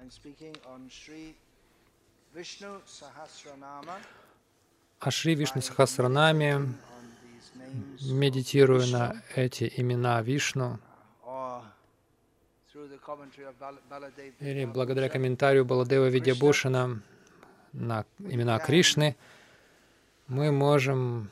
О Шри Вишну Сахасранаме, медитируя на эти имена Вишну, или благодаря комментарию Баладева Видьябушана на имена Кришны, мы можем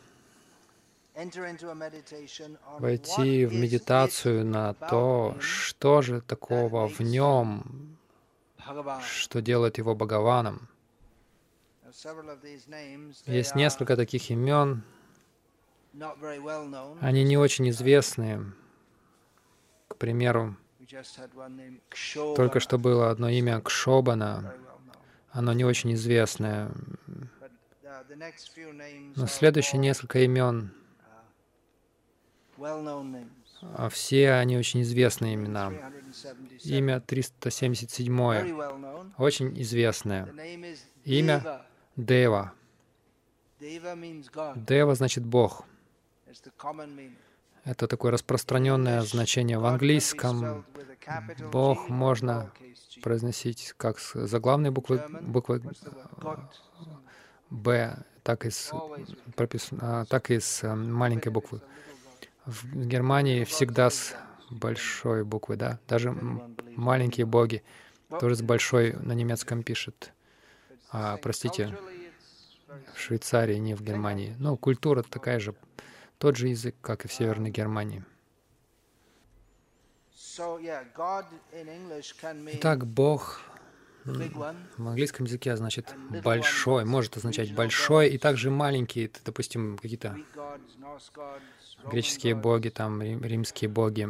войти в медитацию на то, что же такого в нем, что делает его Бхагаваном. Есть несколько таких имен, они не очень известные. К примеру, только что было одно имя Кшобана, оно не очень известное. Но следующие несколько имен, все они очень известные имена. Имя 377, очень известное. Имя Дева. Дева значит Бог. Это такое распространенное значение в английском. Бог можно произносить как с заглавной буквы Б, так и с маленькой буквы. В Германии всегда с большой буквы, да. Даже маленькие боги тоже с большой на немецком пишут. Простите, в Швейцарии, не в Германии. Ну, культура такая же, тот же язык, как и в Северной Германии. Итак, Бог в английском языке значит «большой», может означать «большой», и также маленькие, допустим, какие-то греческие боги, там, римские боги.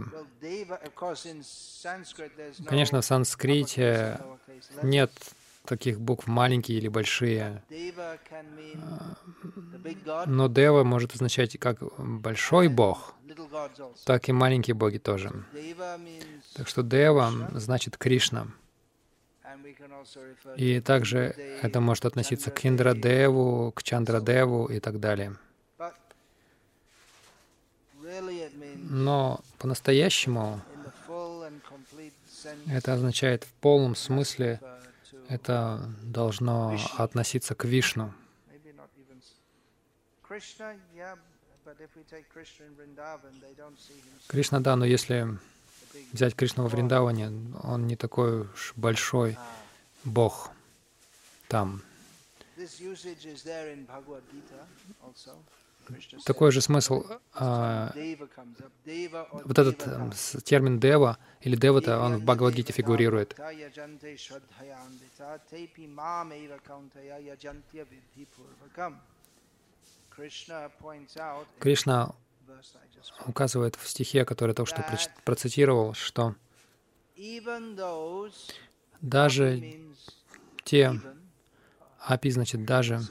Конечно, в санскрите нет таких букв маленькие или большие, но Дева может означать как большой бог, так и маленькие боги тоже. Так что Дева значит Кришна. И также это может относиться к Индрадеву, к Чандрадеву и так далее. Но по-настоящему это означает в полном смысле, это должно относиться к Вишну. Кришна, да, но если взять Кришну во Вриндаване, он не такой уж большой бог там. Такой же смысл. Вот этот термин «дева» или «девата», он в Бхагавад-гите фигурирует. Кришна указывает в стихе, который я только что процитировал, что даже те, апи значит даже,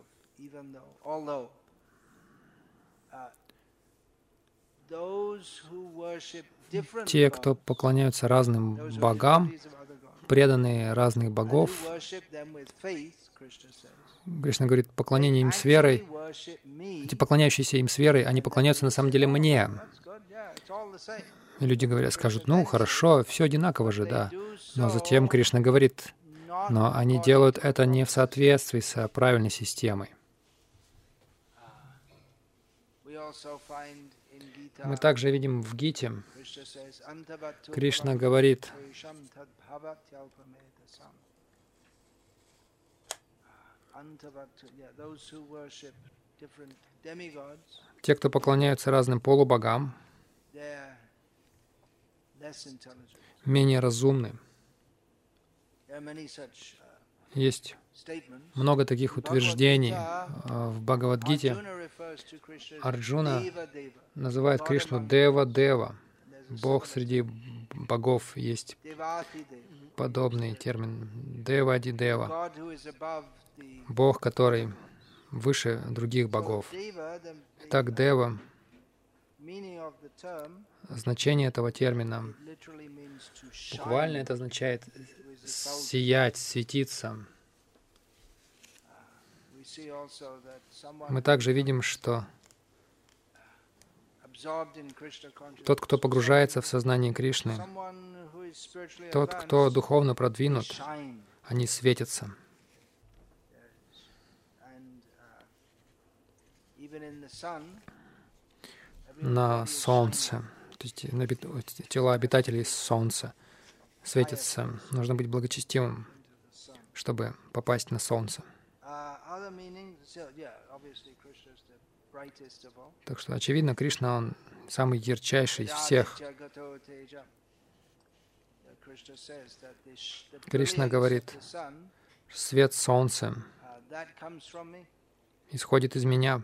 те, кто поклоняются разным богам, преданные разных богов, Кришна говорит, поклонение им с верой, эти поклоняющиеся им с верой, они поклоняются на самом деле мне. И люди говорят, скажут, ну хорошо, все одинаково же, да. Но затем Кришна говорит, но они делают это не в соответствии с правильной системой. Мы также видим в Гите, Кришна говорит, те, кто поклоняются разным полубогам, менее разумны. Есть много таких утверждений в Бхагавад-гите. Арджуна называет Кришну Дева-Дева. Бог среди богов. Есть подобный термин Девади-Дева. Бог, который выше других богов. Итак, Дева, значение этого термина, буквально это означает сиять, светиться. Мы также видим, что тот, кто погружается в сознание Кришны, Тот, кто духовно продвинут, они светятся. На солнце, то есть тела обитателей солнца светятся. Нужно быть благочестивым, чтобы попасть на солнце. Так что, очевидно, Кришна, Он самый ярчайший из всех. Кришна говорит, свет солнца исходит из меня.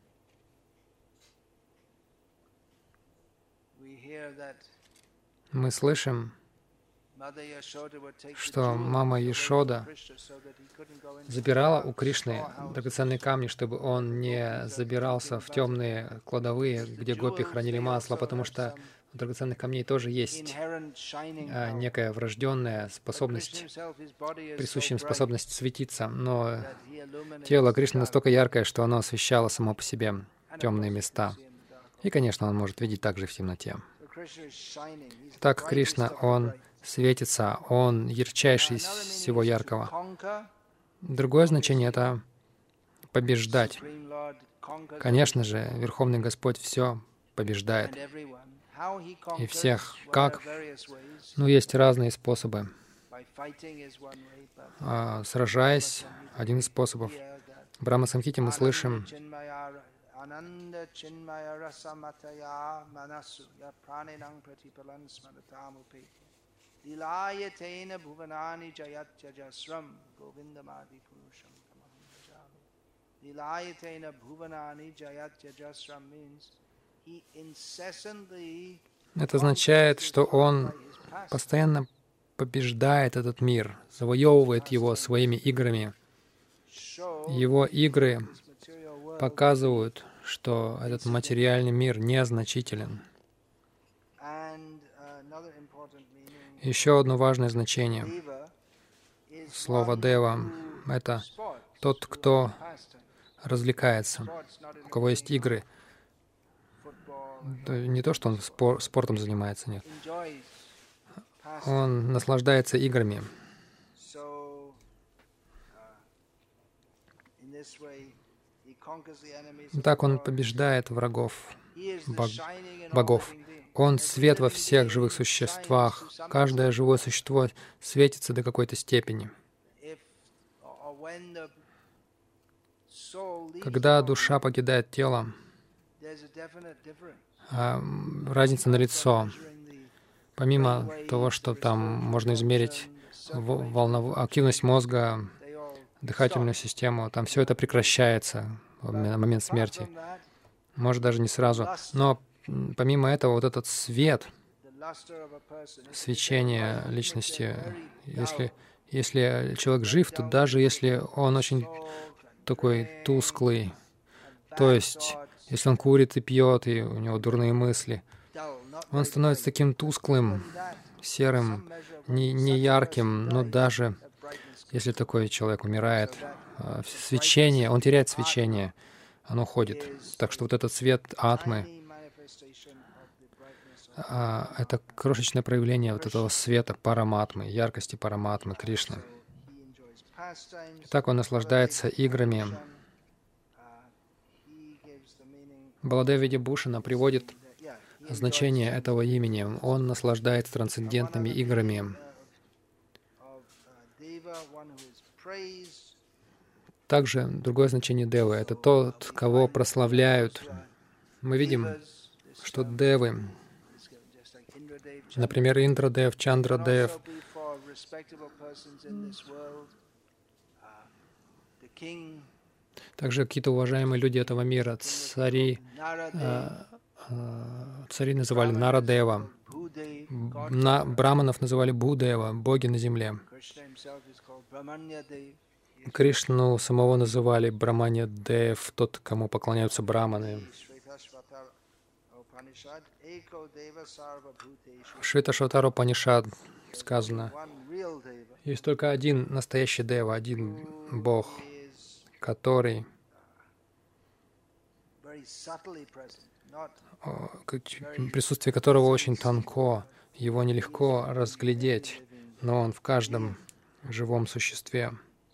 Мы слышим, что мама Яшода забирала у Кришны драгоценные камни, чтобы он не забирался в темные кладовые, где гопи хранили масло, потому что у драгоценных камней тоже есть некая врожденная способность, присущая им способность светиться. Но тело Кришны настолько яркое, что оно освещало само по себе темные места. И, конечно, он может видеть также в темноте. Так Кришна, Он светится, Он ярчайший из всего яркого. Другое значение — это побеждать. Конечно же, Верховный Господь все побеждает. И всех. Как? Ну, есть разные способы. Сражаясь — один из способов. В Брахма-самхите мы слышим: Ананда чинмая расаматая манасу я пранинам пратипалан смаратам упети лилаятена бхуванани джаятяджасрам говиндамади пурушам тамахам bhajami. Лилаятена бхуванани джаятяджасрам means he incessantly. Это означает, что он постоянно побеждает этот мир, завоевывает его своими играми. Его игры показывают, что этот материальный мир незначителен. Еще одно важное значение слова «дева» — это тот, кто развлекается, у кого есть игры. Не то, что он спортом занимается, нет. Он наслаждается играми. Так он побеждает врагов, богов. Он свет во всех живых существах. Каждое живое существо светится до какой-то степени. Когда душа покидает тело, разница налицо. Помимо того, что там можно измерить активность мозга, дыхательную систему, там все это прекращается в момент смерти. Может, даже не сразу. Но помимо этого, вот этот свет, свечение личности, если человек жив, то даже если он очень такой тусклый, то есть если он курит и пьет, и у него дурные мысли, он становится таким тусклым, серым, не ярким, но даже если такой человек умирает, свечение, он теряет свечение, оно уходит. Так что вот этот свет атмы — это крошечное проявление вот этого света параматмы, яркости параматмы, Кришны. Так он наслаждается играми. Баладева Видябхушана приводит значение этого имени. Он наслаждается трансцендентными играми. Также другое значение девы — это тот, кого прославляют. Мы видим, что девы, например, Индрадев, Чандрадев, также какие-то уважаемые люди этого мира, цари называли Нарадева, браманов называли Будева, боги на земле. Кришну самого называли Браманья Дев, тот, кому поклоняются браманы. В Швета-Шватара Упанишад сказано: есть только один настоящий Дева, один Бог, который присутствие которого очень тонко, Его нелегко разглядеть, но он в каждом живом существе.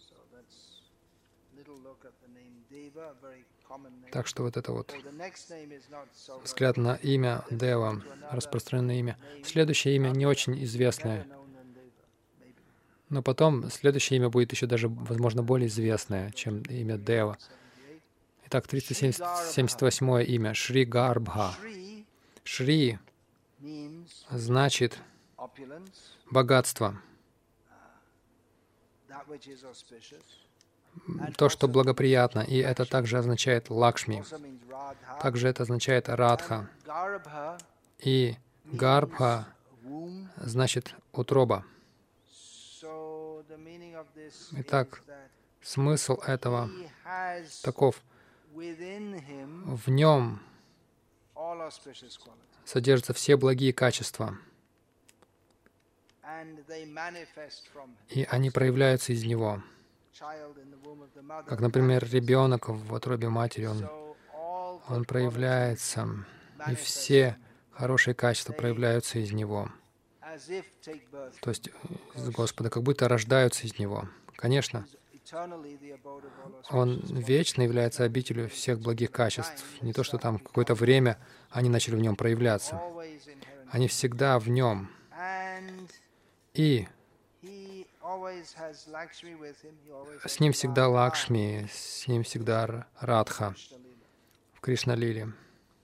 Так что вот это вот взгляд на имя Дева, распространенное имя. Следующее имя не очень известное, но потом следующее имя будет еще даже, возможно, более известное, чем имя Дева. Итак, 378 имя — Шри Гарбха. Шри значит богатство, то, что благоприятно, и это также означает Лакшми. Также это означает Радха. И Гарбха значит утроба. Итак, смысл этого таков. В нем содержатся все благие качества, и они проявляются из него. Как, например, ребенок в утробе матери, он проявляется, и все хорошие качества проявляются из него. То есть из Господа, как будто рождаются из него. Конечно, Он вечно является обителью всех благих качеств. Не то, что там какое-то время они начали в нем проявляться. Они всегда в нем. И с ним всегда Лакшми, с ним всегда Радха в Кришна-лиле.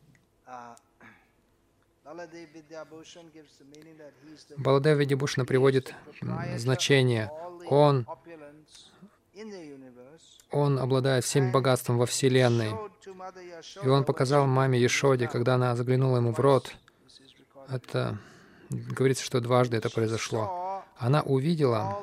Баладев Видябушна приводит значение. Он обладает всем богатством во Вселенной. И он показал маме Яшоде, когда она заглянула ему в рот. Это говорится, что дважды это произошло. Она увидела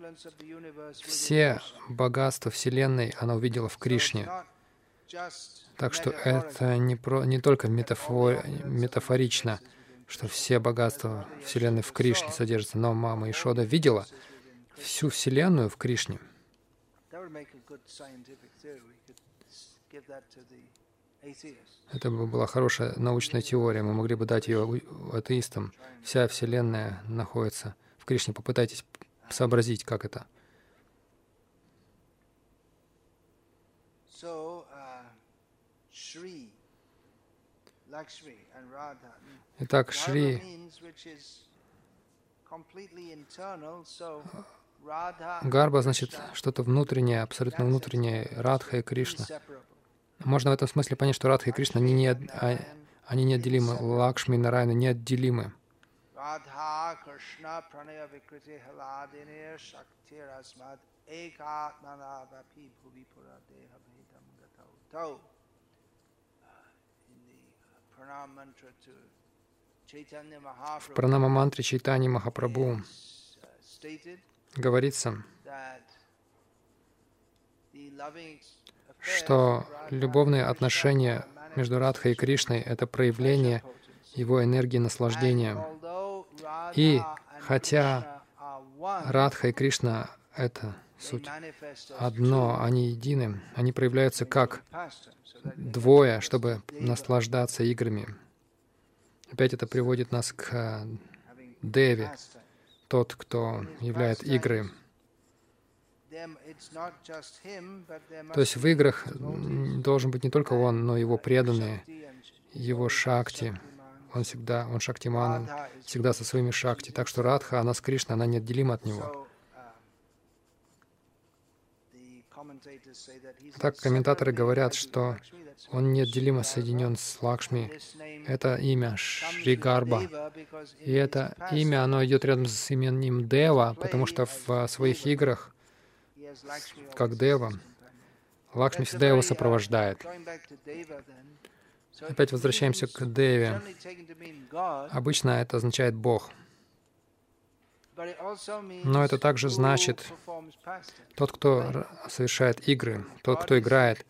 все богатства Вселенной, она увидела в Кришне. Так что это не только метафорично, что все богатства Вселенной в Кришне содержатся, но мама Яшода видела всю Вселенную в Кришне. Это бы была хорошая научная теория, мы могли бы дать ее атеистам. Вся Вселенная находится в Кришне. Попытайтесь сообразить, как это. Итак, Шри Гарба значит что-то внутреннее, абсолютно внутреннее, Радха и Кришна. Можно в этом смысле понять, что Радха и Кришна, они неотделимы, Лакшми и Нараяна неотделимы. В пранама-мантре Чайтаньи Махапрабху говорится, что любовные отношения между Радхой и Кришной — это проявление его энергии наслаждения. И хотя Радха и Кришна — это суть одно, они едины, они проявляются как двое, чтобы наслаждаться играми. Опять это приводит нас к Деве, тот, кто являет игры. То есть в играх должен быть не только он, но и его преданные, его шакти. Он шактиман, всегда со своими шакти. Так что Радха, она с Кришной, она неотделима от него. Так комментаторы говорят, что он неотделимо соединен с Лакшми. Это имя Шри Гарба. И это имя, оно идет рядом с именем Дева, потому что в своих играх, как Дева, Лакшми всегда его сопровождает. Опять возвращаемся к Деве. Обычно это означает Бог. Но это также значит тот, кто совершает игры, тот, кто играет.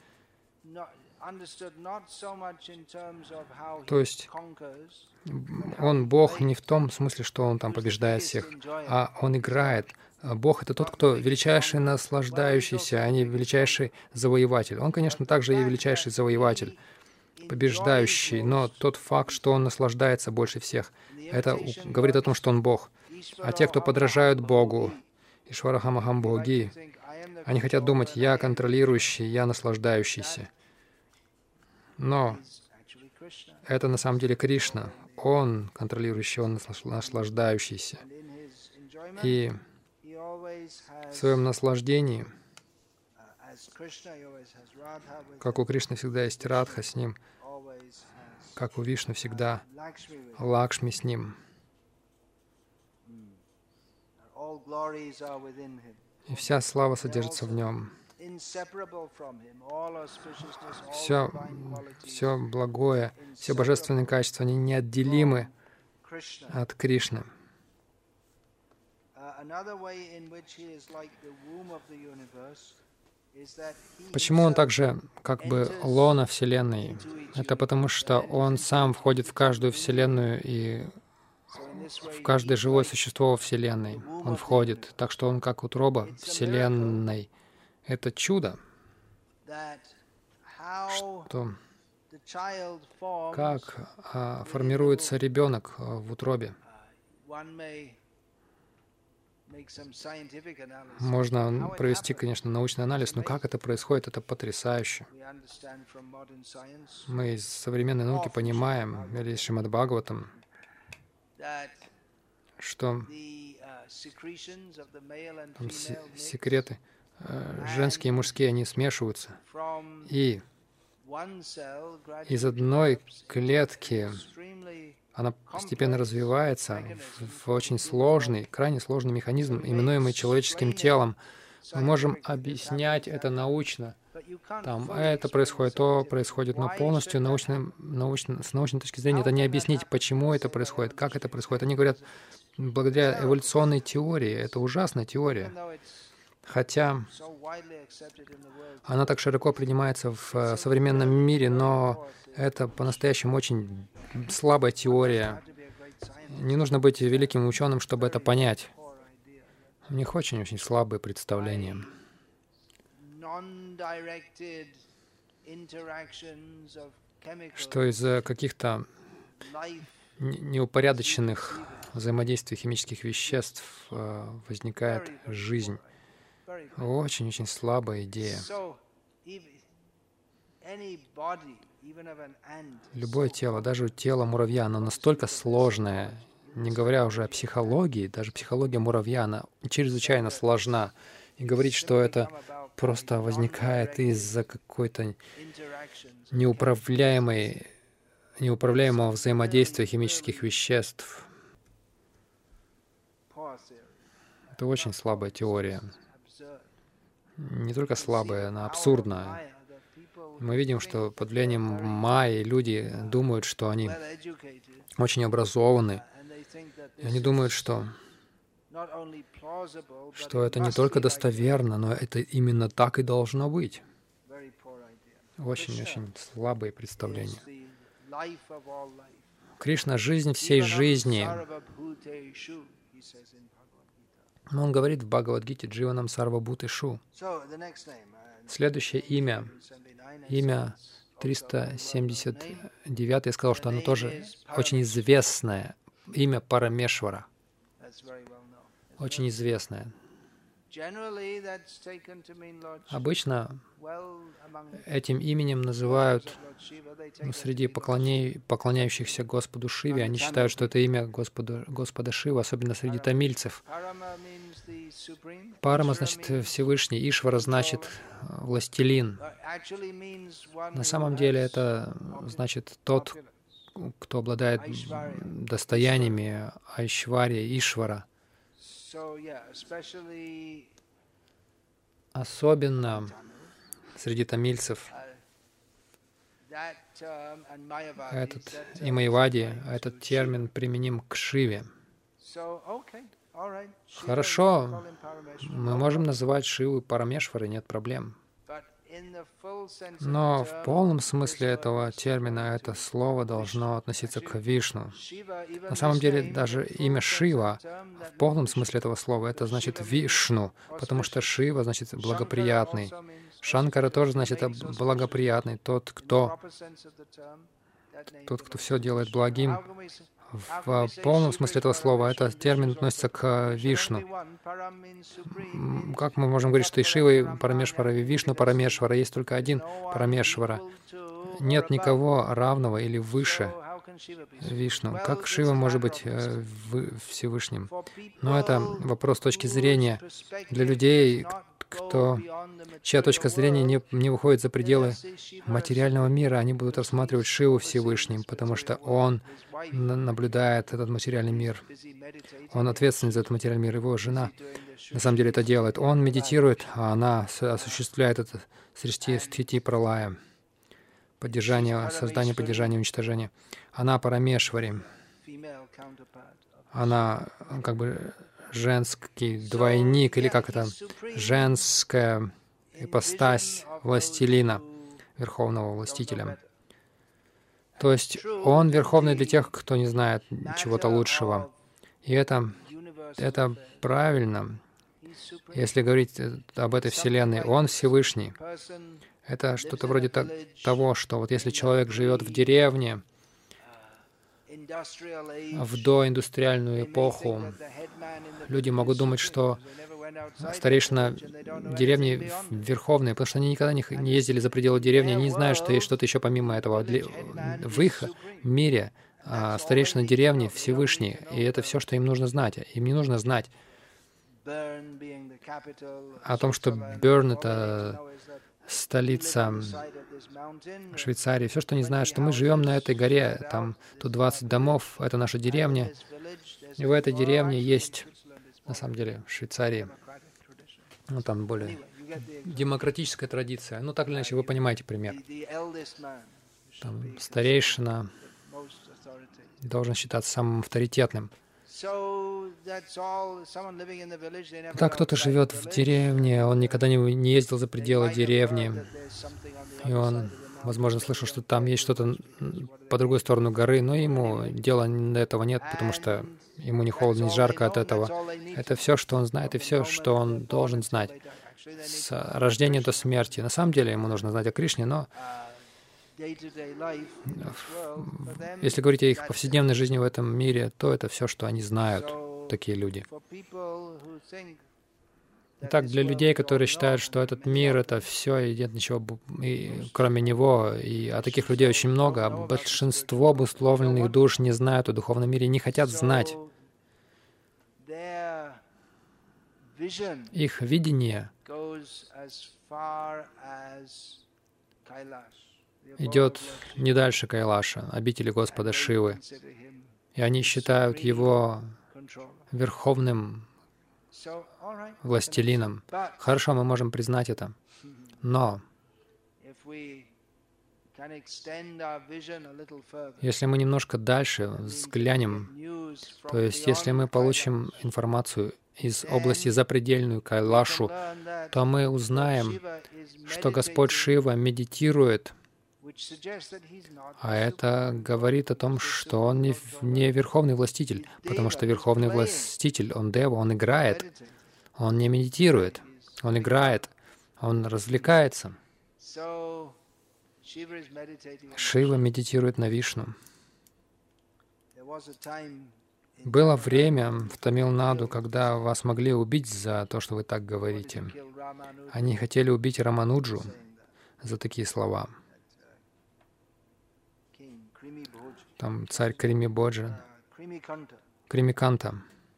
То есть он Бог не в том смысле, что он там побеждает всех, а он играет. Бог — это тот, кто величайший наслаждающийся, а не величайший завоеватель. Он, конечно, также и величайший завоеватель. побеждающий, но тот факт, что он наслаждается больше всех, это говорит о том, что он Бог. А те, кто подражают Богу, Ишварахамахам Боги, они хотят думать, я контролирующий, я наслаждающийся. Но это на самом деле Кришна. Он контролирующий, он наслаждающийся. И в своем наслаждении, как у Кришны всегда есть Радха с ним, как у Вишну всегда Лакшми с ним. И вся слава содержится в нем. Все благое, все божественные качества, они неотделимы от Кришны. Почему он также как бы лона Вселенной? Это потому, что он сам входит в каждую Вселенную и в каждое живое существо во Вселенной. Он входит, так что он как утроба Вселенной. Это чудо, что как формируется ребенок в утробе. Можно провести, конечно, научный анализ, но как это происходит, это потрясающе. Мы из современной науки понимаем, или из Шримад Бхагаватам, что там секреты женские и мужские, они смешиваются. И из одной клетки она постепенно развивается в очень сложный, крайне сложный механизм, именуемый человеческим телом. Мы можем объяснять это научно. Там это происходит, то происходит, но полностью с научной точки зрения это не объяснить, почему это происходит, как это происходит. Они говорят, благодаря эволюционной теории, это ужасная теория. Хотя она так широко принимается в современном мире, но это по-настоящему очень слабая теория. Не нужно быть великим ученым, чтобы это понять. У них очень-очень слабые представления. Что из-за каких-то неупорядоченных взаимодействий химических веществ возникает жизнь. Очень-очень слабая идея. Любое тело, даже тело муравья, оно настолько сложное, не говоря уже о психологии, даже психология муравья, она чрезвычайно сложна. И говорить, что это просто возникает из-за какой-то неуправляемого взаимодействия химических веществ, это очень слабая теория. Не только слабая, она абсурдная. Мы видим, что под влиянием майи люди думают, что они очень образованы. И они думают, что это не только достоверно, но это именно так и должно быть. Очень-очень слабые представления. Кришна — жизнь всей жизни. Но он говорит в Бхагавад-гите «Дживанам сарвабхутешу». Следующее имя 379, я сказал, что оно тоже очень известное. Имя Парамешвара. Очень известное. Обычно этим именем называют среди поклоняющихся Господу Шиве. Они считают, что это имя Господа Шивы, особенно среди тамильцев. Парама значит Всевышний, Ишвара значит властелин. На самом деле это значит тот, кто обладает достояниями Айшварья, Ишвара. Особенно среди тамильцев и майявади, этот термин применим к Шиве. Хорошо, мы можем называть Шиву Парамешварой, нет проблем. Но в полном смысле этого термина это слово должно относиться к Вишну. На самом деле даже имя Шива в полном смысле этого слова это значит Вишну, потому что Шива значит благоприятный. Шанкара тоже значит благоприятный, тот, кто все делает благим. В полном смысле этого слова этот термин относится к Вишну. Как мы можем говорить, что и Шива, и Парамешвара, и Вишну Парамешвара, есть только один Парамешвара. Нет никого равного или выше Вишну. Как Шива может быть Всевышним? Но это вопрос точки зрения для людей, чья точка зрения не выходит за пределы материального мира. Они будут рассматривать Шиву Всевышним, потому что Он наблюдает этот материальный мир. Он ответственен за этот материальный мир. Его жена на самом деле это делает. Он медитирует, а она осуществляет это срещи стхити пралая. Поддержание, создание, поддержание, уничтожение. Она Парамешвари. Она как бы женский двойник, или как это, женская ипостась властелина, верховного властителя. То есть он верховный для тех, кто не знает чего-то лучшего. И это правильно. Если говорить об этой Вселенной, он Всевышний. Это что-то вроде того, что вот если человек живет в деревне, в доиндустриальную эпоху, люди могут думать, что старейшина деревни верховные, потому что они никогда не ездили за пределы деревни, они не знают, что есть что-то еще помимо этого. В их мире старейшина деревни Всевышний, и это все, что им нужно знать. Им не нужно знать о том, что Берн — это столица Швейцарии. Все, что они знают, что мы живем на этой горе, там тут 20 домов, это наша деревня. И в этой деревне есть, на самом деле, в Швейцарии, ну там более демократическая традиция. Ну так или иначе, вы понимаете пример. Там старейшина должен считаться самым авторитетным. Так кто-то живет в деревне, он никогда не ездил за пределы деревни, и он, возможно, слышал, что там есть что-то по другой сторону горы, но ему дела до этого нет, потому что ему не холодно, не жарко от этого. Это все, что он знает, и все, что он должен знать. С рождения до смерти. На самом деле ему нужно знать о Кришне, но если говорить о их повседневной жизни в этом мире, то это все, что они знают, такие люди. Итак, для людей, которые считают, что этот мир — это все, и нет ничего кроме него, а таких людей очень много, а большинство обусловленных душ не знают о духовном мире, не хотят знать. Их видение идет не дальше Кайлаша, обители Господа Шивы. И они считают его верховным властелином. Хорошо, мы можем признать это. Но если мы немножко дальше взглянем, то есть если мы получим информацию из области запредельную Кайлашу, то мы узнаем, что Господь Шива медитирует. А это говорит о том, что он не верховный властитель, потому что верховный властитель, он дева, он играет, он не медитирует, он играет, он развлекается. Шива медитирует на Вишну. Было время в Тамилнаду, когда вас могли убить за то, что вы так говорите. Они хотели убить Рамануджу за такие слова. Там царь Кримибоджа, Кримиканта.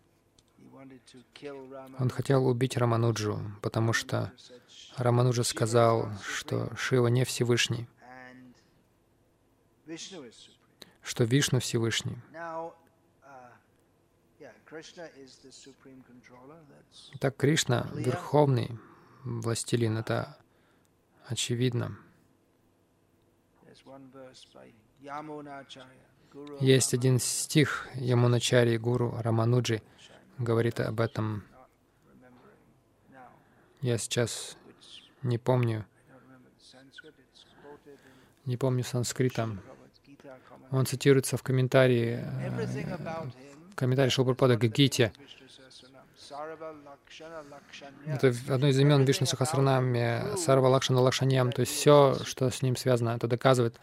Он хотел убить Рамануджу, потому что Рамануджа сказал, что Шива не Всевышний, что Вишну Всевышний. Так Кришна — верховный властелин, это очевидно. Есть один стих Ямуначари Гуру Рамануджи говорит об этом. Я сейчас не помню санскрита. Он цитируется в комментарии Шрила Прабхупады к Гите. Это одно из имен Вишну Сахасранаме, Сарва Лакшана Лакшаньям, то есть все, что с ним связано, это доказывает,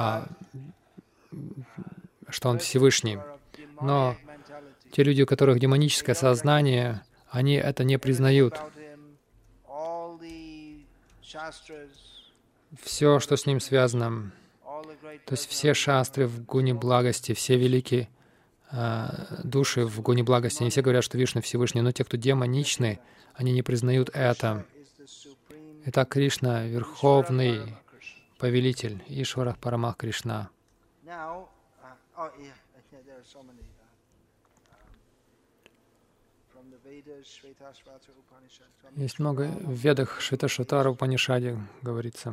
что он Всевышний. Но те люди, у которых демоническое сознание, они это не признают. Все, что с ним связано, то есть все шастры в гуне благости, все великие души в гуне благости, они все говорят, что Вишну Всевышний, но те, кто демоничны, они не признают это. Итак, Кришна — Верховный Повелитель, Ишвара Парамах Кришна. Есть много в Ведах, Шветашватара Упанишаде говорится.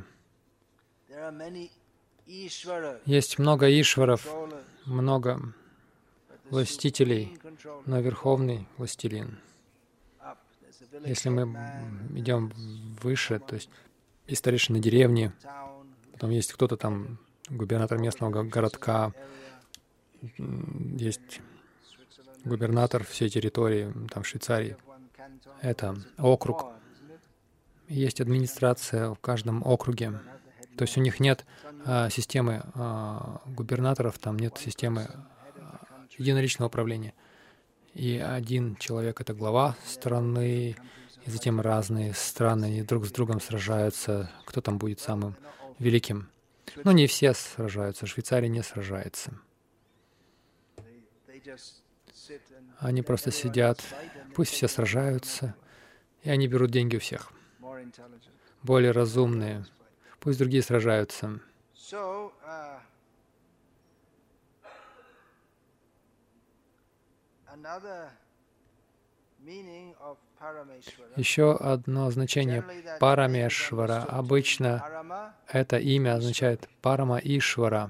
Есть много Ишваров, много властителей, но Верховный Властелин. Если мы идем выше, то есть есть старейшина деревни, потом есть кто-то там, губернатор местного городка, есть губернатор всей территории, там в Швейцарии. Это округ. Есть администрация в каждом округе. То есть у них нет системы губернаторов, там нет системы единоличного управления. И один человек — это глава страны, и затем разные страны, они друг с другом сражаются, кто там будет самым великим. Но не все сражаются, Швейцария не сражается. Они просто сидят, пусть все сражаются, и они берут деньги у всех. Более разумные, пусть другие сражаются. Еще одно значение Парамешвара. Обычно это имя означает Парама Ишвара.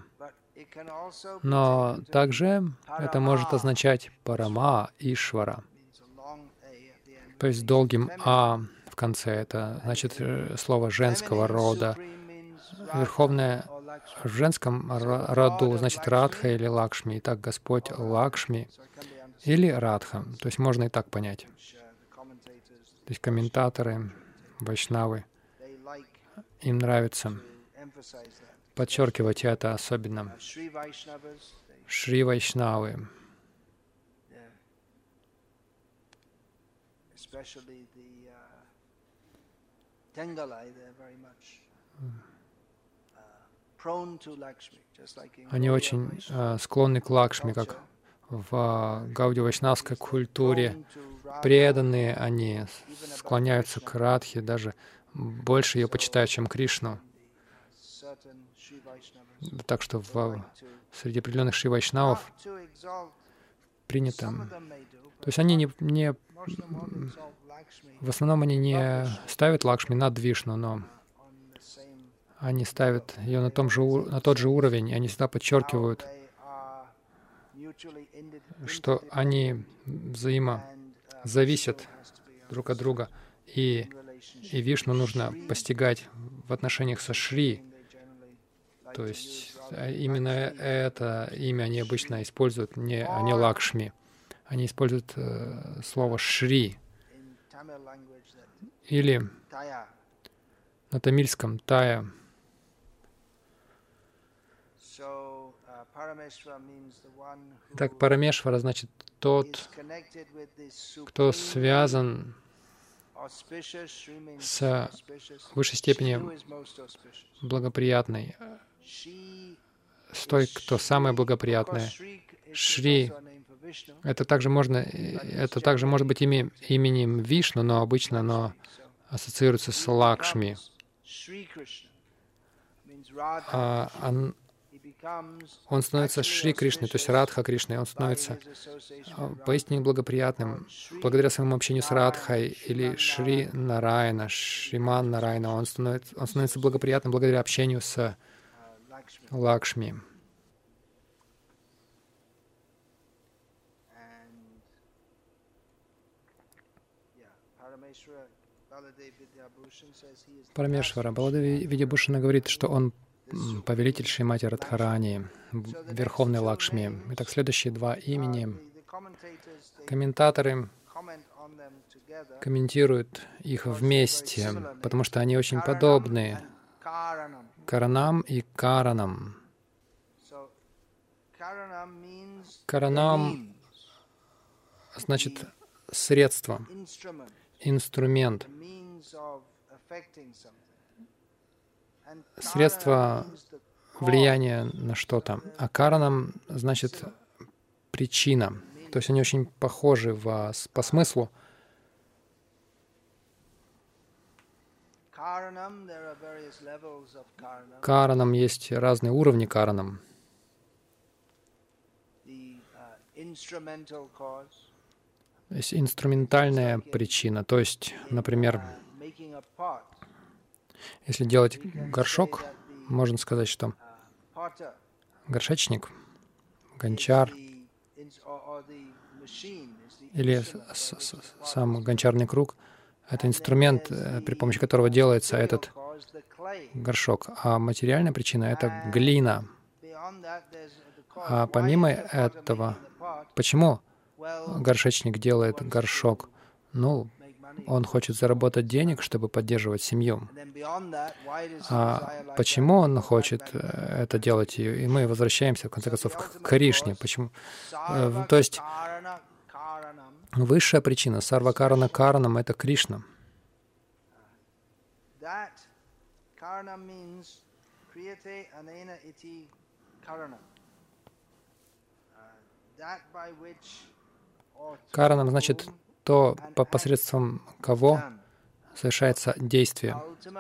Но также это может означать Парама Ишвара. То есть долгим «а» в конце. Это значит слово женского рода. Верховное в женском роду значит Радха или Лакшми. Итак, Господь Лакшми или Радха. То есть можно и так понять. То есть комментаторы, вайшнавы, им нравится подчеркивать это особенно. Шри Вайшнавы. Они очень склонны к Лакшми, как в гаудия-вайшнавской культуре. Преданные они склоняются к Радхе, даже больше ее почитают, чем Кришну. Так что среди определенных Шри Вайшнавов принято. То есть они в основном они не ставят Лакшми над Вишну, но они ставят ее на тот же уровень, и они всегда подчеркивают, что они взаимозависят друг от друга, и Вишну нужно постигать в отношениях со Шри. То есть именно это имя они обычно используют, а не Лакшми. Они используют слово Шри. Или на тамильском Тая. Так, Парамешвара значит тот, кто связан с высшей степенью благоприятной, с той, кто самая благоприятная. Шри — это также может быть именем Вишну, но обычно оно ассоциируется с Лакшми. Он становится Шри Кришной, то есть Радха Кришной, он становится поистине благоприятным. Благодаря своему общению с Радхой или Шри Нарайана, Шриман Нарайана, он становится благоприятным благодаря общению с Лакшми. Парамешвара Баладеви Видябушана говорит, что он повелитель Шримати Радхарани, Верховный Лакшми. Итак, следующие два имени. Комментаторы комментируют их вместе, потому что они очень подобны. Каранам и Каранам. Каранам значит средство, инструмент, средство влияния на что-то. А Каранам значит причина. То есть они очень похожи по смыслу. Каранам есть разные уровни Каранам. Есть инструментальная причина. То есть, например, если делать горшок, можно сказать, что горшечник, гончар или сам гончарный круг — это инструмент, при помощи которого делается этот горшок. А материальная причина — это глина. А помимо этого, почему горшечник делает горшок? Ну, он хочет заработать денег, чтобы поддерживать семью. А почему он хочет это делать? И мы возвращаемся, в конце концов, к Кришне. Почему? То есть высшая причина, сарвакарана каранам, это Кришна. Каранам значит то, посредством кого совершается действие.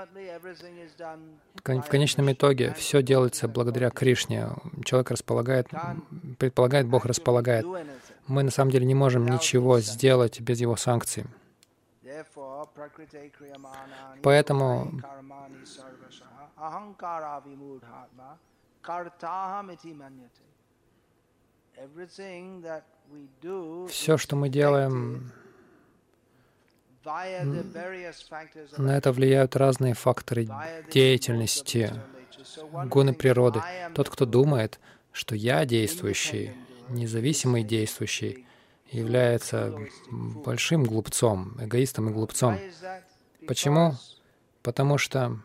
В конечном итоге все делается благодаря Кришне. Человек предполагает, Бог располагает. Мы на самом деле не можем ничего сделать без Его санкций. Поэтому все, что мы делаем, на это влияют разные факторы деятельности, гуны природы. Тот, кто думает, что я действующий, независимый действующий, является большим глупцом, эгоистом и глупцом. Почему? Потому что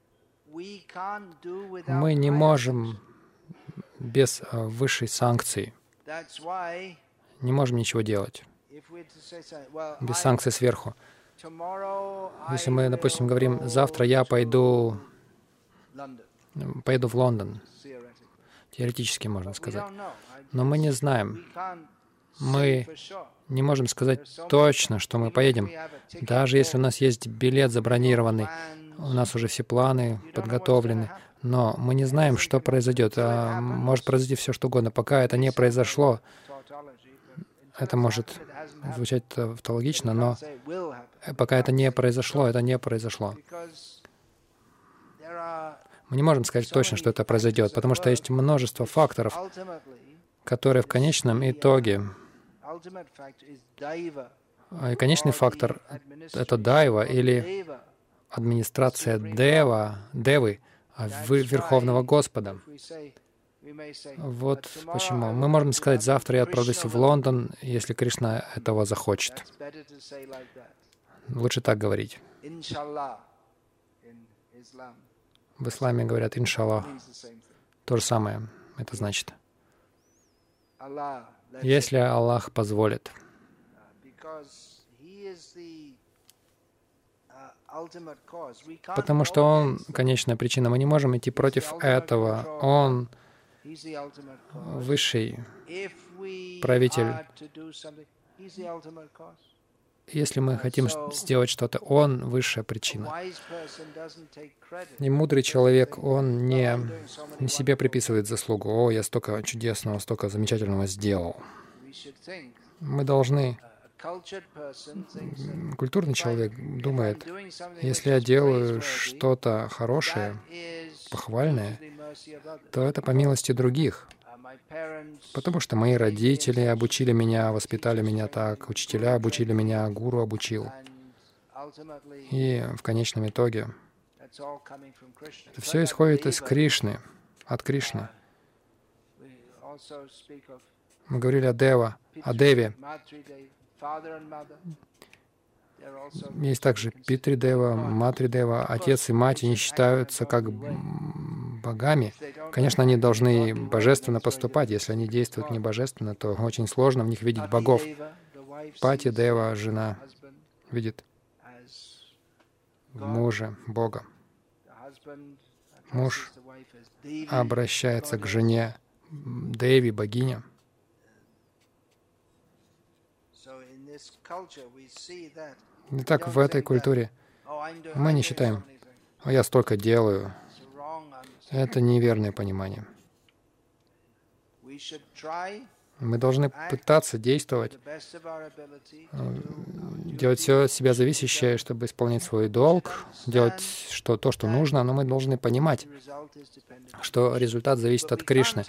мы не можем без высшей санкции, не можем ничего делать без санкций сверху. Если мы, допустим, говорим, завтра я пойду в Лондон, теоретически можно сказать, но мы не знаем, мы не можем сказать точно, что мы поедем. Даже если у нас есть билет забронированный, у нас уже все планы подготовлены, но мы не знаем, что произойдет. Может произойти все, что угодно. Пока это не произошло, это может звучать тавтологично, но пока это не произошло, это не произошло. Мы не можем сказать точно, что это произойдет, потому что есть множество факторов, которые в конечном итоге... И конечный фактор — это дайва или администрация девы, Верховного Господа. Вот почему. Мы можем сказать, завтра я отправлюсь в Лондон, если Кришна этого захочет. Лучше так говорить. В исламе говорят «иншаллах». То же самое это значит. Если Аллах позволит. Потому что Он — конечная причина. Мы не можем идти против этого. Он высший правитель. Если мы хотим сделать что-то, Он — высшая причина. И мудрый человек, он не себе приписывает заслугу. «О, я столько чудесного, столько замечательного сделал». Мы должны... Культурный человек думает, если я делаю что-то хорошее, похвальное, то это по милости других. Потому что мои родители обучили меня, воспитали меня так, учителя обучили меня, гуру обучил. И в конечном итоге это все исходит из Кришны, от Кришны. Мы говорили о Деве. Есть также Питридева, Матридева. Отец и мать, они считаются как богами. Конечно, они должны божественно поступать. Если они действуют не божественно, то очень сложно в них видеть богов. Пати Дева, жена, видит в муже Бога. Муж обращается к жене Деви, богиня. Итак, в этой культуре мы не считаем, я столько делаю. Это неверное понимание. Мы должны пытаться действовать, делать все от себя зависящее, чтобы исполнять свой долг, делать то, что нужно, но мы должны понимать, что результат зависит от Кришны.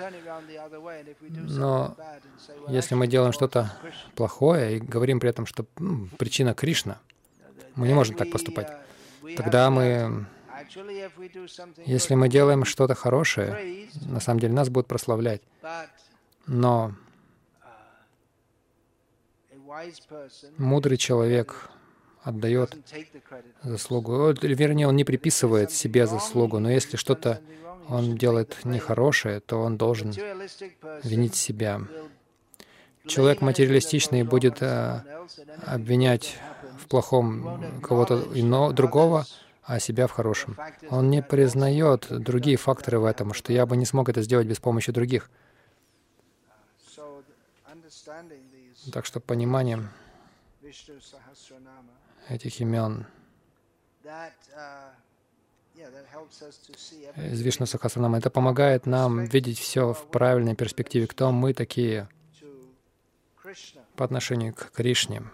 Но если мы делаем что-то плохое и говорим при этом, что причина Кришна, мы не можем так поступать. Тогда если мы делаем что-то хорошее, на самом деле нас будут прославлять. Но мудрый человек отдает заслугу, или вернее, он не приписывает себе заслугу, но если что-то он делает нехорошее, то он должен винить себя. Человек материалистичный будет обвинять в плохом кого-то другого, а себя в хорошем. Он не признает другие факторы в этом, что я бы не смог это сделать без помощи других. Так что понимание этих имен из Вишну Сахасранама, это помогает нам видеть все в правильной перспективе, кто мы такие по отношению к Кришне.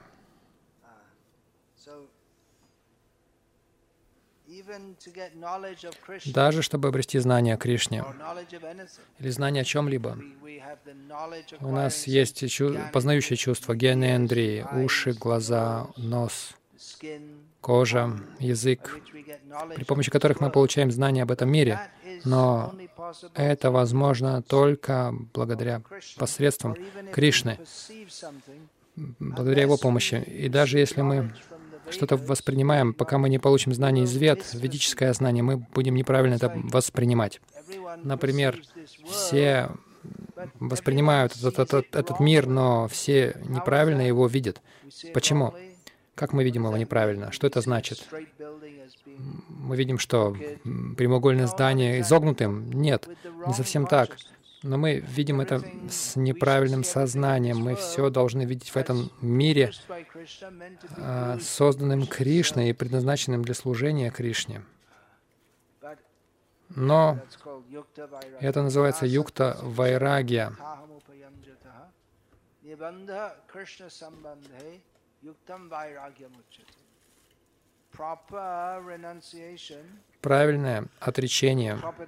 Даже чтобы обрести знание о Кришне или знание о чем-либо, у нас есть познающее чувство, гьянендрии, уши, глаза, нос, кожа, язык, при помощи которых мы получаем знания об этом мире. Но это возможно только благодаря посредством Кришны, благодаря Его помощи. И даже если мы что-то воспринимаем, пока мы не получим знание из Вед, ведическое знание, мы будем неправильно это воспринимать. Например, все воспринимают этот мир, но все неправильно его видят. Почему? Как мы видим его неправильно? Что это значит? Мы видим, что прямоугольное здание изогнутым? Нет, не совсем так. Но мы видим это с неправильным сознанием. Мы все должны видеть в этом мире, созданным Кришной и предназначенным для служения Кришне. Но это называется юкта вайрагья. Правильное отречение —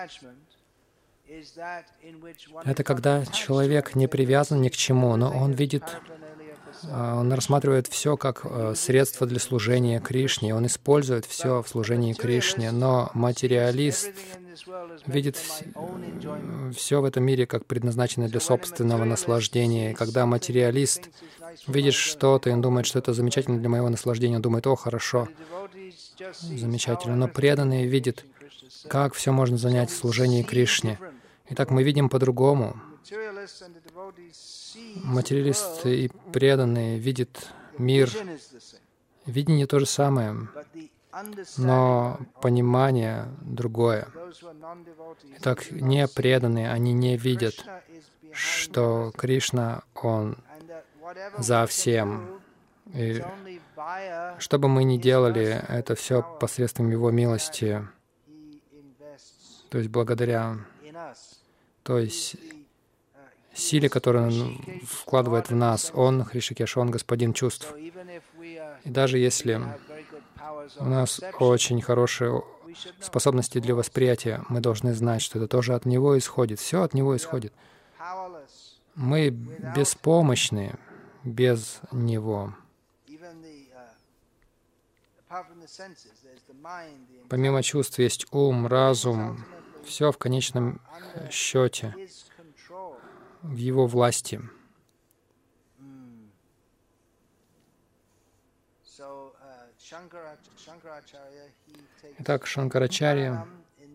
это когда человек не привязан ни к чему, но он видит, он рассматривает все как средство для служения Кришне, он использует все в служении Кришне, но материалист видит все в этом мире как предназначенное для собственного наслаждения. И когда материалист видит что-то, и он думает, что это замечательно для моего наслаждения, он думает: о, хорошо, замечательно. Но преданный видит, как все можно занять в служении Кришне. Итак, мы видим по-другому. Материалист и преданные видят мир. Видение то же самое, но понимание другое. Итак, не преданные, они не видят, что Кришна, Он за всем. И что бы мы ни делали, это все посредством Его милости, то есть благодаря той силе, которую Он вкладывает в нас. Он, Хришикеш, Он Господин чувств. И даже если у нас очень хорошие способности для восприятия, мы должны знать, что это тоже от Него исходит. Все от Него исходит. Мы беспомощны без Него. Помимо чувств есть ум, разум. Все в конечном счете в Его власти. Итак, Шанкарачарья,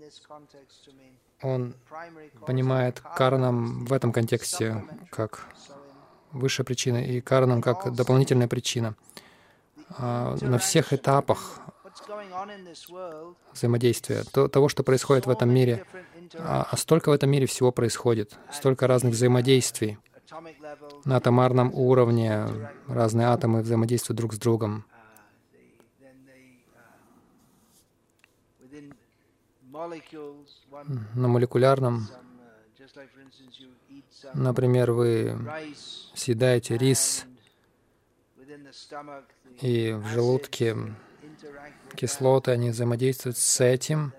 он понимает каранам в этом контексте как высшая причина и каранам как дополнительная причина. На всех этапах взаимодействия, того, что происходит в этом мире, столько в этом мире всего происходит, столько разных взаимодействий. На атомарном уровне разные атомы взаимодействуют друг с другом. На молекулярном, например, вы съедаете рис, и в желудке кислоты, они взаимодействуют с этим.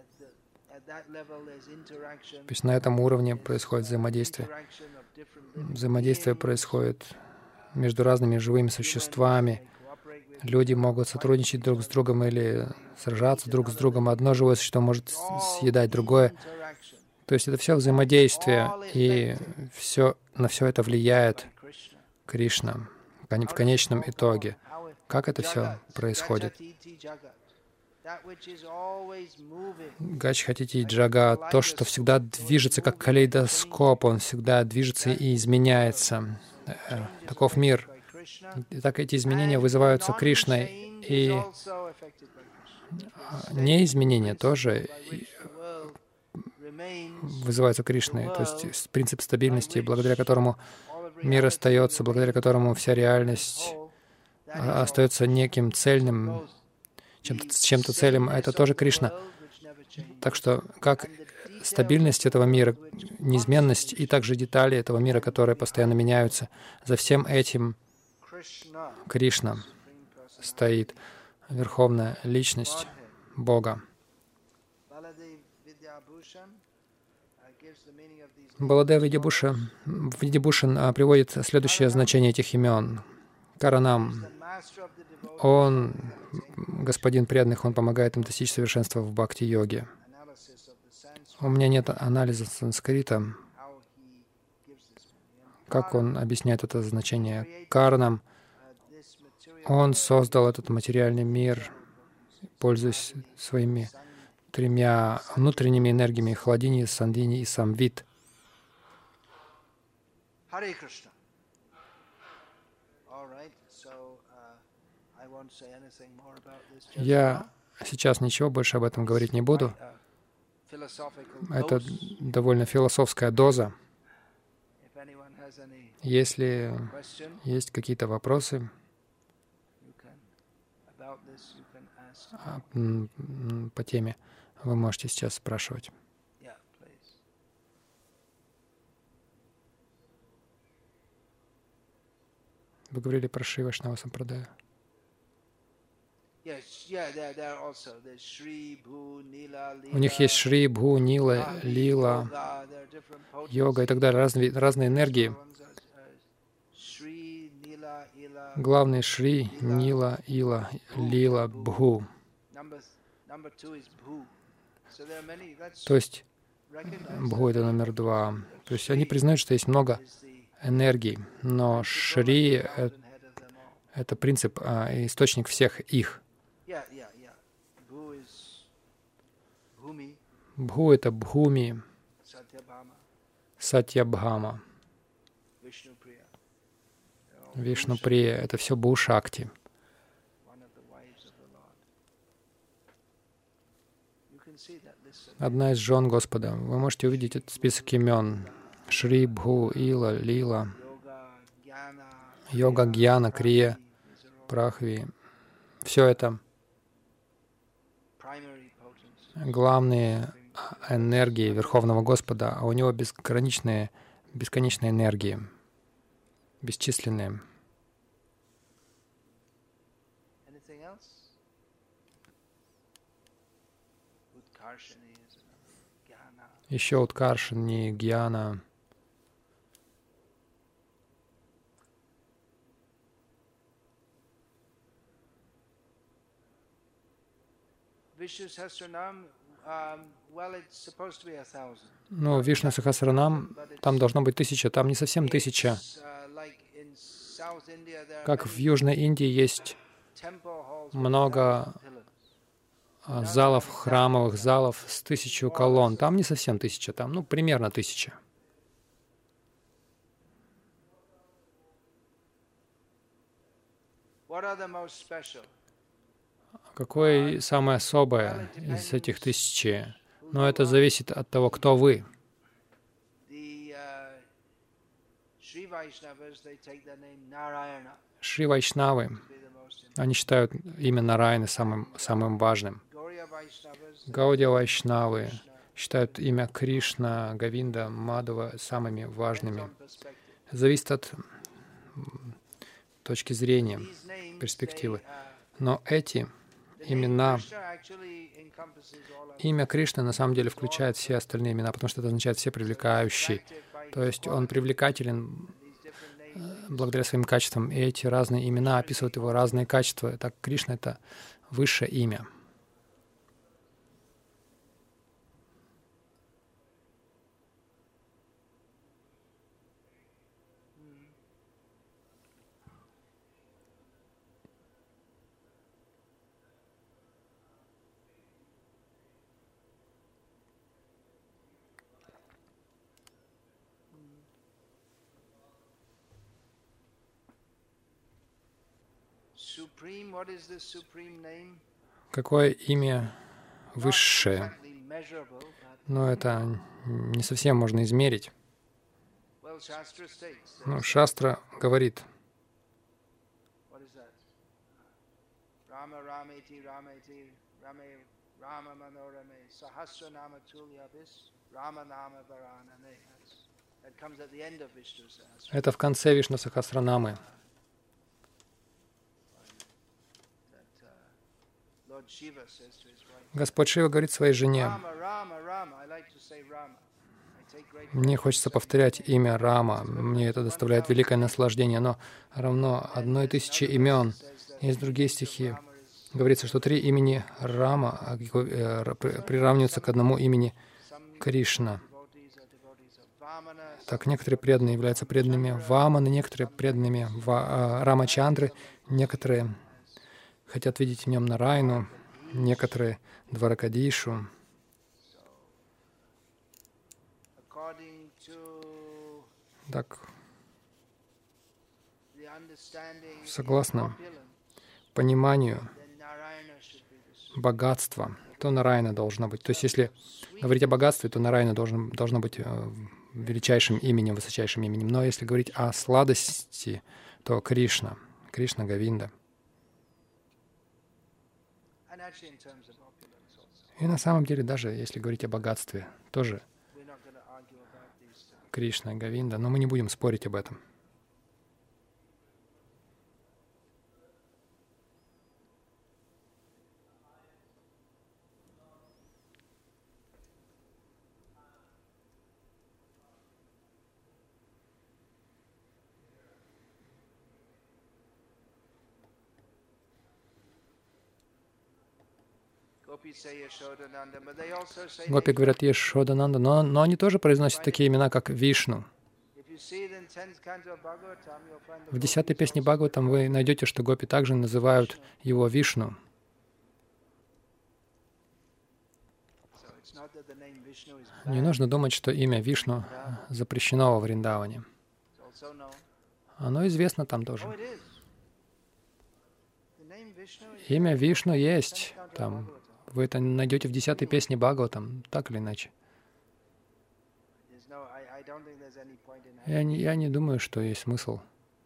То есть на этом уровне происходит взаимодействие. Взаимодействие происходит между разными живыми существами. Люди могут сотрудничать друг с другом или сражаться друг с другом. Одно живое существо может съедать другое. То есть это все взаимодействие, и на все это влияет Кришна в конечном итоге. Как это все происходит? Гачхатити Джага, то, что всегда движется как калейдоскоп, он всегда движется и изменяется. Таков мир. И так эти изменения вызываются Кришной, и неизменения тоже вызываются Кришной. То есть принцип стабильности, благодаря которому мир остается, благодаря которому вся реальность остается неким цельным, чем-то цельным, это тоже Кришна. Так что как стабильность этого мира, неизменность и также детали этого мира, которые постоянно меняются, за всем этим Кришна стоит, Верховная Личность Бога. Баладев Видябушан приводит следующее значение этих имен. Каранам. Он господин преданных, он помогает им достичь совершенства в бхакти-йоге. У меня нет анализа санскрита, как он объясняет это значение. Каранам. Он создал этот материальный мир, пользуясь своими тремя внутренними энергиями — хладини, сандини и самвит. Я сейчас ничего больше об этом говорить не буду. Это довольно философская доза. Если есть какие-то вопросы по теме, вы можете сейчас спрашивать. Вы говорили про Шри Вайшнава Сампрадая. У них есть Шри, Бху, Нила, Лила, йога и так далее, разные энергии. Главный Шри, Нила, Ила, Лила, Бху. То есть Бху — это номер 2. То есть они признают, что есть много энергий, но Шри — это принцип, источник всех их. Бху — это Бхуми, Сатьябхама, Вишнуприя — это все Бху-шакти. Одна из жен Господа. Вы можете увидеть этот список имен. Шри, Бху, Ила, Лила, Йога, Гьяна, Крия, Прахви. Все это главные энергии Верховного Господа, а у Него бесконечные энергии, бесчисленные. Еще Уткаршини, Гьяна. Ну, Вишну Сахасранам, там должно быть 1000, там не совсем 1000. Как в Южной Индии есть много залов, храмовых залов с 1000 колонн. Там не совсем 1000, там, примерно 1000. Какое самое особое из этих 1000? Но это зависит от того, кто вы. Шри Вайшнавы, они считают имя Нараяны самым важным. Гаудия Вайшнавы считают имя Кришна, Говинда, Мадхава самыми важными. Зависит от точки зрения, перспективы. Но эти имена, имя Кришны на самом деле включает все остальные имена, потому что это означает «все привлекающий». То есть он привлекателен благодаря своим качествам, и эти разные имена описывают его разные качества. Так Кришна — это высшее имя. Какое имя высшее? Но это не совсем можно измерить. Шастра говорит, это в конце Вишну Сахасранамы. Господь Шива говорит своей жене: «Мне хочется повторять имя Рама, мне это доставляет великое наслаждение, но равно 1000 имен». Есть другие стихи. Говорится, что 3 имени Рама приравниваются к одному имени Кришна. Так, некоторые преданные являются преданными Ваманы, некоторые преданными Рамачандры, некоторые хотят видеть в нем Нараяну, некоторые Дваракадишу. Так, согласно пониманию богатства, то Нараяна должно быть. То есть, если говорить о богатстве, то Нараяна должно быть величайшим именем, высочайшим именем. Но если говорить о сладости, то Кришна, Говинда. И на самом деле, даже если говорить о богатстве, тоже Кришна, Говинда, но мы не будем спорить об этом. Гопи говорят Яшодананда, но они тоже произносят такие имена, как Вишну. В 10-й песне Бхагаватам вы найдете, что гопи также называют его Вишну. Не нужно думать, что имя Вишну запрещено во Вриндаване. Оно известно там тоже. Имя Вишну есть там. Вы это найдете в 10-й песне Бхагаватам, так или иначе. Я не думаю, что есть смысл.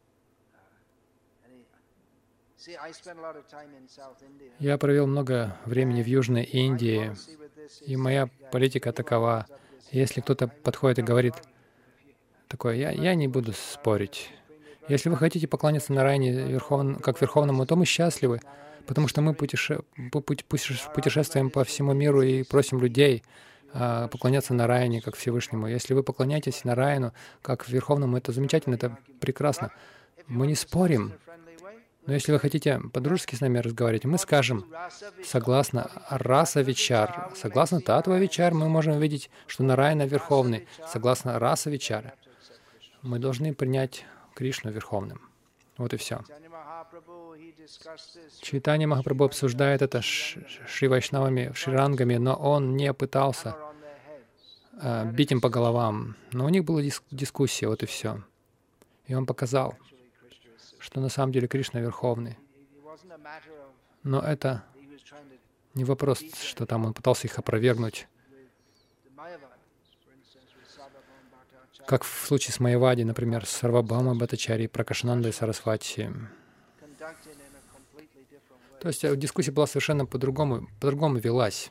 Я провел много времени в Южной Индии, и моя политика такова. Если кто-то подходит и говорит такое, я не буду спорить. Если вы хотите поклоняться Нараяне как Верховному, то мы счастливы, потому что мы путешествуем по всему миру и просим людей поклоняться Нараяне как Всевышнему. Если вы поклоняетесь Нараяну как Верховному, это замечательно, это прекрасно. Мы не спорим. Но если вы хотите по-дружески с нами разговаривать, мы скажем, согласно раса Вичар, согласно Татва Вичар, мы можем видеть, что Нараяна Верховный. Согласно раса Вичара, мы должны принять Кришну Верховным. Вот и все. Чайтанья Махапрабху обсуждает это с Шри Вайшнавами, Шрирангами, но он не пытался бить им по головам. Но у них была дискуссия, вот и все. И он показал, что на самом деле Кришна Верховный. Но это не вопрос, что там он пытался их опровергнуть. Как в случае с Майявади, например, с Сарвабхаума Бхаттачарьей, Пракашанандой Сарасвати. То есть дискуссия была совершенно по-другому велась.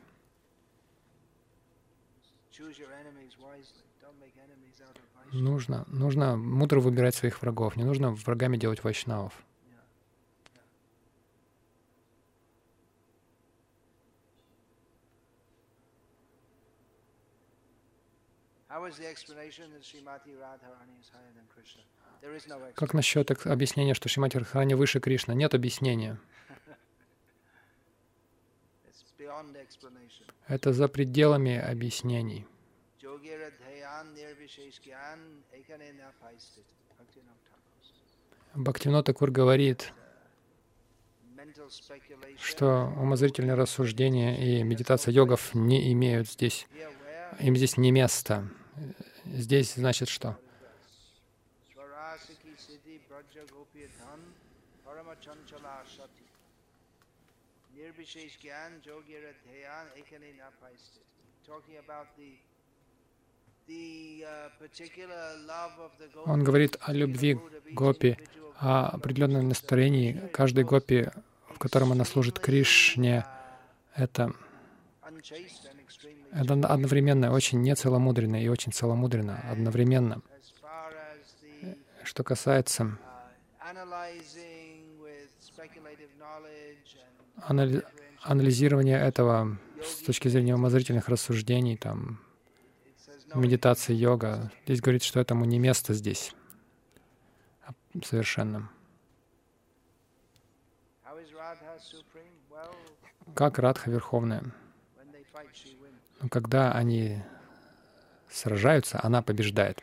Нужно мудро выбирать своих врагов. Не нужно врагами делать вайшнавов. Как насчет объяснения, что Шримати Радхарани выше Кришны? Нет объяснения. Это за пределами объяснений. Бхактивинода Такур говорит, что умозрительные рассуждения и медитация йогов не имеют здесь, им здесь не место. Здесь значит что? Он говорит о любви гопи, о определенном настроении каждой гопи, в котором она служит Кришне. Это одновременно очень нецеломудренно и очень целомудренно одновременно. Что касается анализирования этого с точки зрения умозрительных рассуждений, там, медитации, йога, здесь говорится, что этому не место здесь совершенно. Как Радха Верховная? Но когда они сражаются, она побеждает.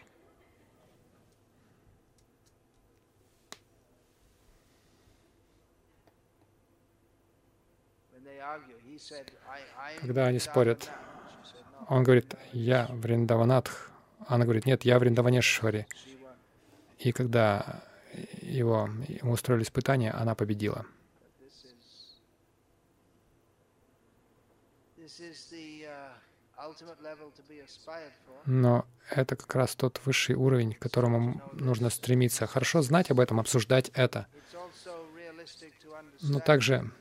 Когда они спорят, он говорит, я Вриндаванатх. Она говорит, нет, я Вриндаванешвари. И когда ему устроили испытания, она победила. Но это как раз тот высший уровень, к которому нужно стремиться. Хорошо знать об этом, обсуждать это. Но также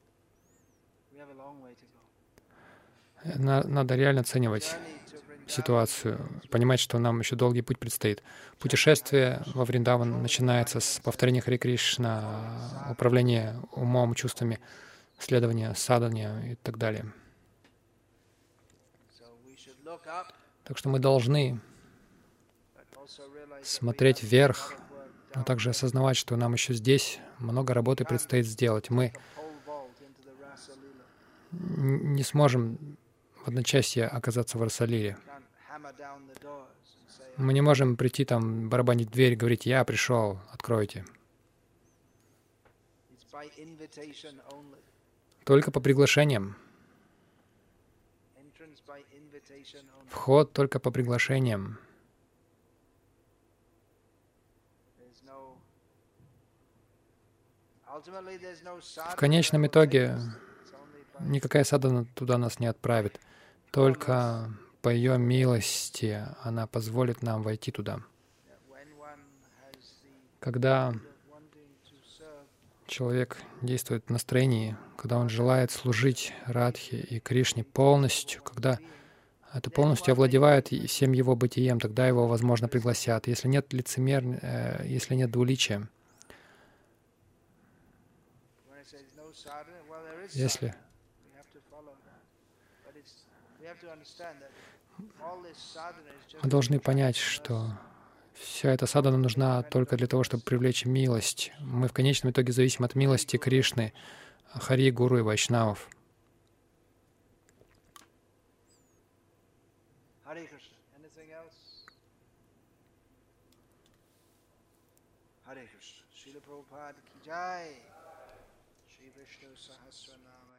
надо реально оценивать ситуацию, понимать, что нам еще долгий путь предстоит. Путешествие во Вриндаван начинается с повторения Харе Кришна, управления умом, чувствами, следования, садхания и так далее. Так что мы должны смотреть вверх, но также осознавать, что нам еще здесь много работы предстоит сделать. Мы не сможем в одночасье оказаться в Расалиле. Мы не можем прийти там, барабанить в дверь, говорить, я пришел, откройте. Только по приглашениям. Вход только по приглашениям. В конечном итоге никакая садхана туда нас не отправит. Только по ее милости она позволит нам войти туда. Когда человек действует в настроении, когда он желает служить Радхе и Кришне полностью, когда это полностью овладевает всем его бытием, тогда его, возможно, пригласят. Если нет если нет двуличия, если мы должны понять, что вся эта садхана нужна только для того, чтобы привлечь милость. Мы в конечном итоге зависим от милости Кришны, Хари, Гуру и Вайшнавов. Hare Krishna. Srila Prabhupada ki jai. Shri Vishnu Sahasranama